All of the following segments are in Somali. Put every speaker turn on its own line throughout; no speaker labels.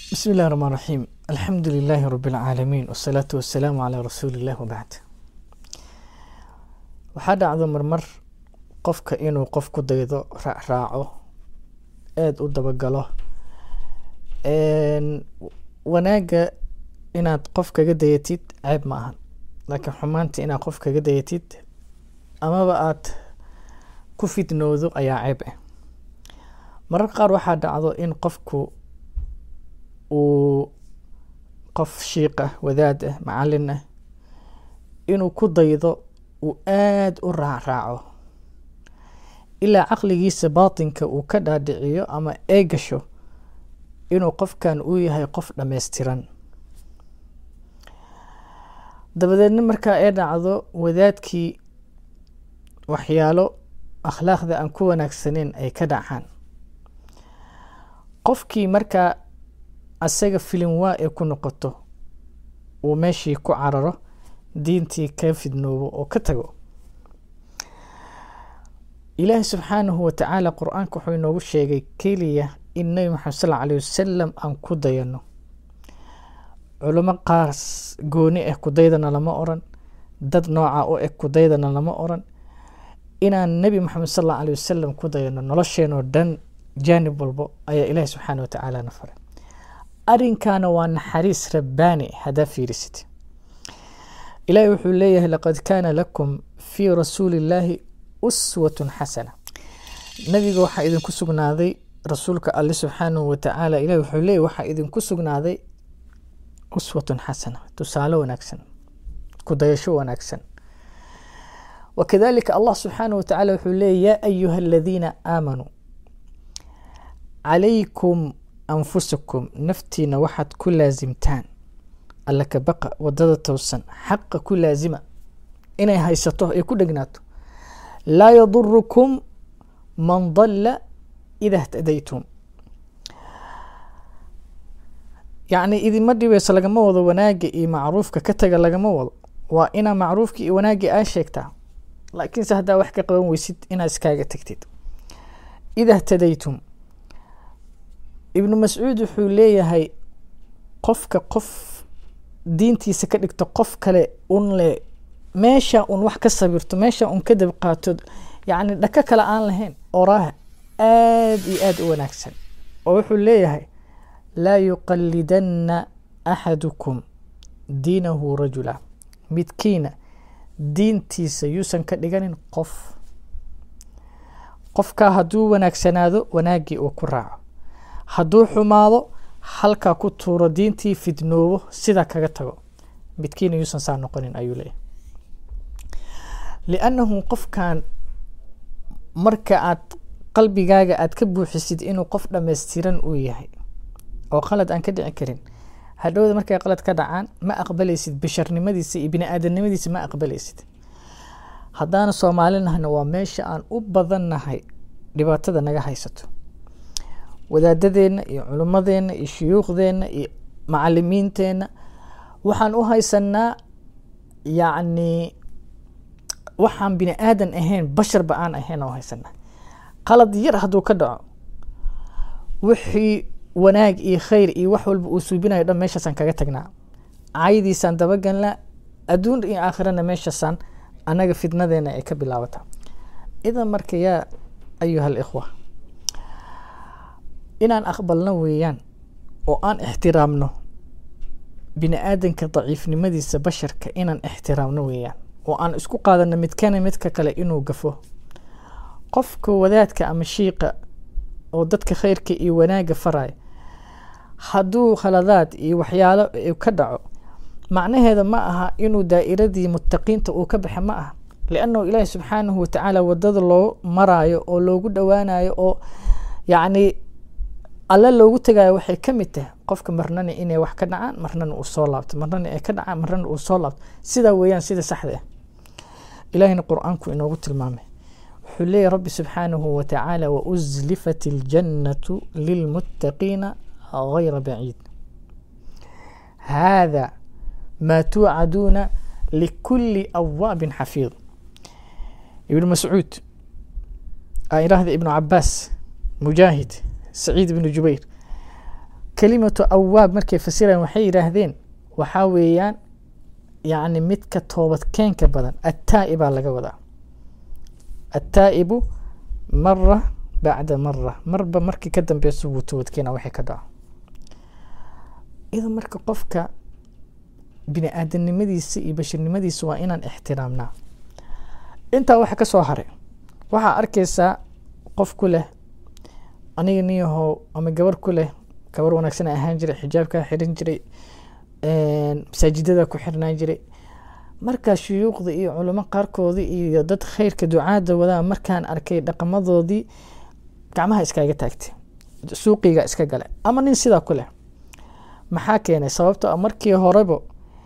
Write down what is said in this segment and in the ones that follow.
بسم الله الرحمن الرحيم. الحمد لله رب العالمين والصلاة والسلام على رسول الله وبعد. waxaa dhacdo marmar qofka inuu qof ku daydo raaco aad u dabagalo wanaaga inaad qof kaga dayatid ceeb ma ahan, laakiin xumaanta inaad qof kaga dayatid amaba aad ku fitnoodo ayaa ceeb ah. marar qaar waxaa dhacdo in qofku uu qof shiiq ah, wadaad ah, macallin ah inuu ku daydo uu aad u raaco ilaa caqligiisa baatinka uu ka dhaadhiciyo ama eegasho inuu qofkan uu yahay qof dhammaystiran. dabadeedna markaa ay dhacdo wadaadkii waxyaalo akhlaaqda aan ku wanaagsaneyn ay ka dhacaan, qofkii markaa asaga filin waa ee ku noqoto uu meeshii ku cararo, diintii ka fidnoobo oo ka tago. ilaahi subxaanahu wa tacaala qur-aanka wuxuu inoogu sheegay keliya in nabi maxamed sal alayhi wasalam aan ku dayano. culimo qaas gooni ah ku daydana lama oran, dad nooca u eg ku daydana lama oran. inaan nabi maxamed sal alayhi wasalam ku dayano nolosheenoo dhan jaanib walbo ayaa ilaahi subxaanahu wa tacaala na faray. arrinkaana waa naxariis rabbaani haddaa fiirisid. ilaahi wuxuu leeyahay laqad kaana lakum fii rasuulillaahi uswatun xasana. nabiga waxaa idinku sugnaaday rasuulka alle subxaanahu wa tacaala. ilahi wuxuu leeyahy waxaa idinku sugnaaday uswatun xasana, tusaale wanaagsan, ku dayasho wanaagsan. wakadalika allah subxaanahu wa tacaala wuxuu leeyahy yaa ayuha aladiina aamanuu calaykum anfusakum, naftiina waxaad ku laasimtaan alla ka baqa, wadada toosan, xaqa ku laasima inay haysato ay ku dhegnaato. laa yadurukum man dalla ida htadaytum. yacni idinma dhibayso lagama wado wanaaga iyo macruufka ka taga lagama wado, waa inaa macruufka iyo wanaagii aa sheegtaa, laakiinse haddaa wax ka qaban weysid inaa iskaaga tagtid. ida htadaytum, ibnu mascuud wuxuu leeyahay qofka qof diintiisa ka dhigto qof kale un le meesha un wax ka sabirto, meesha un ka dab qaato, yacni dhaka kale aan lahayn, oraah aad iyo aad u wanaagsan. oo wuxuu leeyahay laa yuqalidanna axadukum diinahu rajula, midkiina diintiisa yuusan ka dhiganin qof. qofkaa hadduu wanaagsanaado wanaaggii uu ku raaco, hadduu xumaado halkaa ku tuuro, diintii fidnoobo, sidaa kaga tago. midkiina yuusan saa noqonin ayuu leeyahay. liannahu qofkan marka aad qalbigaaga aad ka buuxisid inuu qof dhammaystiran uu yahay oo qalad aan ka dhici karin, hadhowda markay qalad ka dhacaan ma aqbalaysid, basharnimadiisa iyo bini aadamnimadiisa ma aqbalaysid. haddaana soomaalinahna waa meesha aan u badannahay dhibaatada naga haysato. wadaadadeenna iyo culimmadeenna iyo shuyuukhdeenna iyo macalimiinteenna waxaan u haysanaa yacni waxaan bini aadan ahayn, basharba aan ahayn oo haysanaa. qalad yar hadduu ka dhaco, wixii wanaag iyo khayr iyo wax walba uu suubinayo dhan meeshaasaan kaga tagnaa, caayadiisaan dabagalnaa, adduun iyo aakhirana meeshaasaan annaga fidnadeena ay ka bilaabataa. idan marka yaa ayuha alikhwa, inaan aqbalno weeyaan oo aan ixtiraamno bini aadanka daciifnimadiisa, basharka inaan ixtiraamno weeyaan, oo aan isku qaadano midkana midka kale inuu gafo. qofka wadaadka ama shiiqa oo dadka khayrka iyo wanaaga faraya, hadduu khaladaad iyo waxyaalo ka dhaco, macnaheeda ma aha inuu daa'iradii muttaqiinta uu ka baxa, ma aha. liannahu ilaahi subxaanahu wa tacaala wadada loo maraayo oo loogu dhowaanayo oo yacni alle loogu tagayo waxay ka mid tahay qofka marnana inay wax ka dhacaan, marnana uu soo laabto, marnana ay ka dhacaan, marnana uu soo laabto. sidaa weeyaan sida saxda ah. ilaahina qur-aanku inoogu tilmaamay, wuxuu leeyahy rabbi subxaanahu wa tacaala wauzlifat iljannatu lilmuttaqiina gayra baciid hada maa tuucaduuna likulli awaabin xafiid. ibnu mascuud aa idhaahda ibnu cabaas, mujaahid, سعيد بن جبير kelimatu awaab markay fasirayaan waxay yidhaahdeen waxaa weeyaan yacni midka toobadkeenka badan attaa'ibaa laga wadaa. attaa'ibu mara bacda mara, marba markii ka dambeysa wuu toobadkeena waxay ka dhaco. idan marka qofka bini aadanimadiisa iyo bashirnimadiisa waa inaan ixtiraamnaa. intaa waxa ka soo haray waxaa arkaysaa qof ku leh aniga niyahow ama gabar ku leh gabar wanaagsan ahaan jiray, xijaabkaa xiran jiray, masaajidada ku xirnaan jiray. markaa shuyuuqda iyo culamo qaarkoodii iyo dad khayrka ducaada wadaa markaan arkay dhaqamadoodii gacmaha iskaga taagtay, suuqiga iska gale. ama nin sidaa ku leh maxaa keenay? sababtoo markii horeba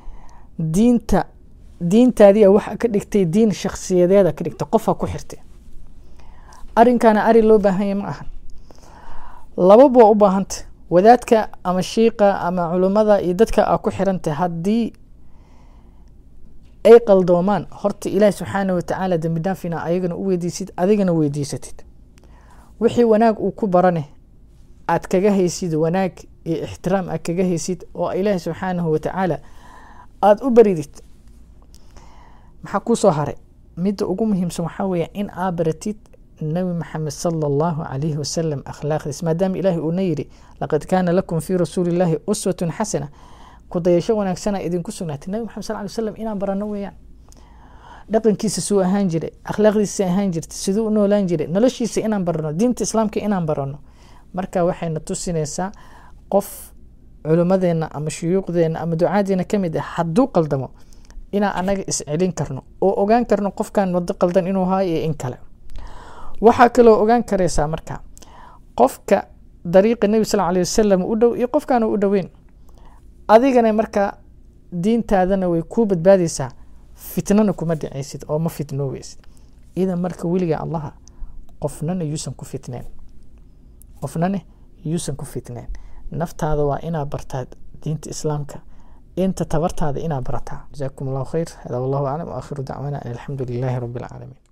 diintaadii waxa ka dhigtay diin shakhsiyadeeda ka dhigtay, qofaa ku xirtay. arinkana ari loo baahan yahay ma ahan, lababa u baahantay. wadaadka ama shiiqa ama culimada iyo dadka aa ku xirantay haddii ay qaldoomaan, horta ilaahi subxaana watacaala dambi dhaafina ayagana u weydiisid, adigana weydiisatid. wixii wanaag uu ku barane aad kaga haysid wanaag iyo ixtiraam aad kaga haysid oo ilaahi subxaanahu watacaala aada u baridid. maxaa kuu soo haray? midda ugu muhiimsan waxaa weeye in aa baratid nabi maxamed sala allahu calayhi wasalam akhlaaqdiis, maadaama ilaahi uuna yidhi laqad kaana lakum fii rasuulillaahi uswatun xasana, ku dayasho wanaagsana idinku sugnaatay. nabi maxamed sal ly wasalam inaan barano weeyaan. dhaqankiisa suu ahaan jiray, akhlaaqdiisa ahaan jirtay, siduu u noolaan jiray, noloshiisa inaan barano, diinta islaamka inaan barano. marka waxayna tusinaysaa qof culimadeena ama shuyuuqdeena ama ducaadeena ka mid ah hadduu qaldamo inaan anaga iscelin karno oo ogaan karno qofkan wado qaldan inuu haayo iyo in kale. waxaa kaloo ogaan karaysaa marka qofka dariiqa nebi sal alay wasalam u dhow iyo qofkaan u dhoweyn. adigana marka diintaadana way kuu badbaadaysaa, fitnana kuma dhacaysid oo ma fitnoobeysid. idan marka weliga allaha qofnana yuusan ku fitneen. naftaada waa inaa bartaa diinta islaamka, inta tabartaada inaa barataa. jazaakum allahu khayr. hada wallahu aclam wa aakhiru dacwana an alxamdu lilaahi rabbi alcaalamiin.